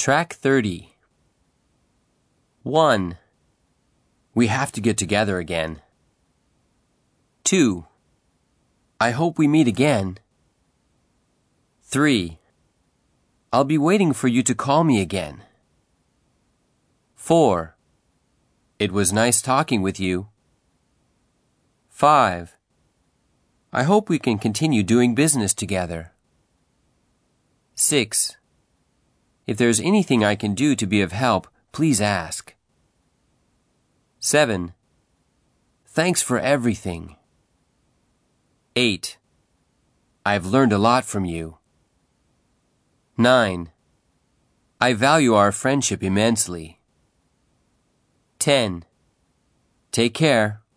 Track 30. 1. We have to get together again. 2. I hope we meet again. 3. I'll be waiting for you to call me again. 4. It was nice talking with you. 5. I hope we can continue doing business together. 6. If there's anything I can do to be of help, please ask. 7. Thanks for everything. 8. I've learned a lot from you. 9. I value our friendship immensely. 10. Take care.